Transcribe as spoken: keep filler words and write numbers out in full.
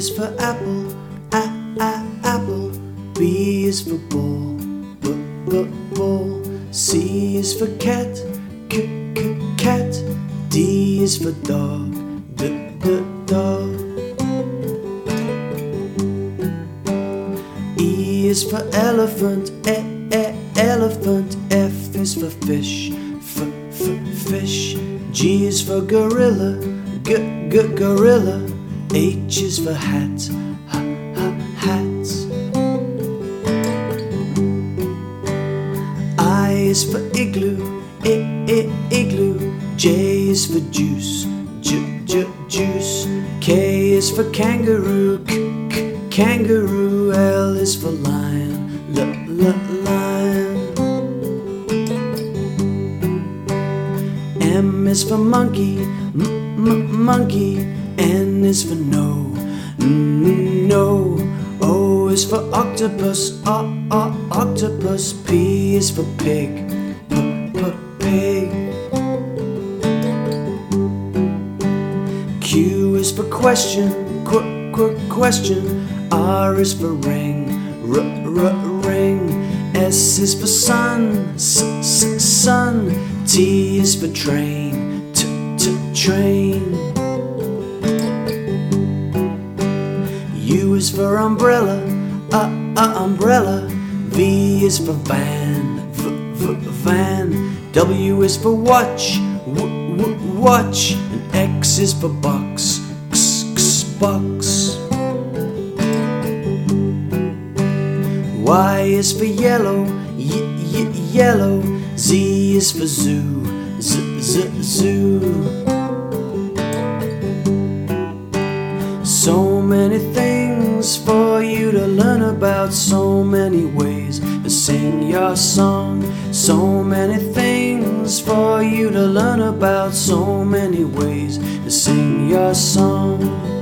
is for apple, a a apple. B is for ball, b b ball. C is for cat, c c cat. D is for dog, d d dog. E is for elephant, e e elephant. F is for fish, f f fish. G is for gorilla, g g gorilla. H is for hat, h h hat. I is for igloo, I I igloo. J is for juice, j j juice. K is for kangaroo, k k kangaroo. L is for lion, l l lion. M is for monkey, m m monkey. N is for no, n no. O is for octopus, o o octopus. P is for pig, p p pig. Q is for question, qu qu question. R is for ring, r r ring. S is for sun, s s sun. T is for train, t t train. U is for umbrella, uh uh umbrella. V is for van, v v van. W is for watch, w w watch. And X is for box, x x box. Y is for yellow, y y yellow. Z is for zoo, z z zoo. So many things for you to learn about, so many ways to sing your song. So many things for you to learn about, so many ways to sing your song.